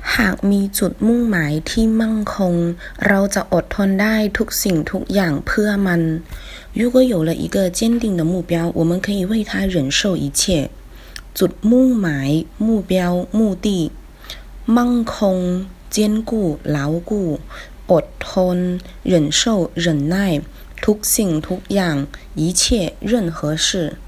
หากมีจุดมุ่งหมายที่มั่งคงเราจะอดทนได้ทุกสิ่งทุกอย่างเพื่อมัน如果有了一个坚定的目标我们可以为它忍受一切จุดมุ่งหมาย目标目的มั่งคง坚固牢固อดทน忍受忍耐ทุกสิ่งทุกอย่าง一切任何事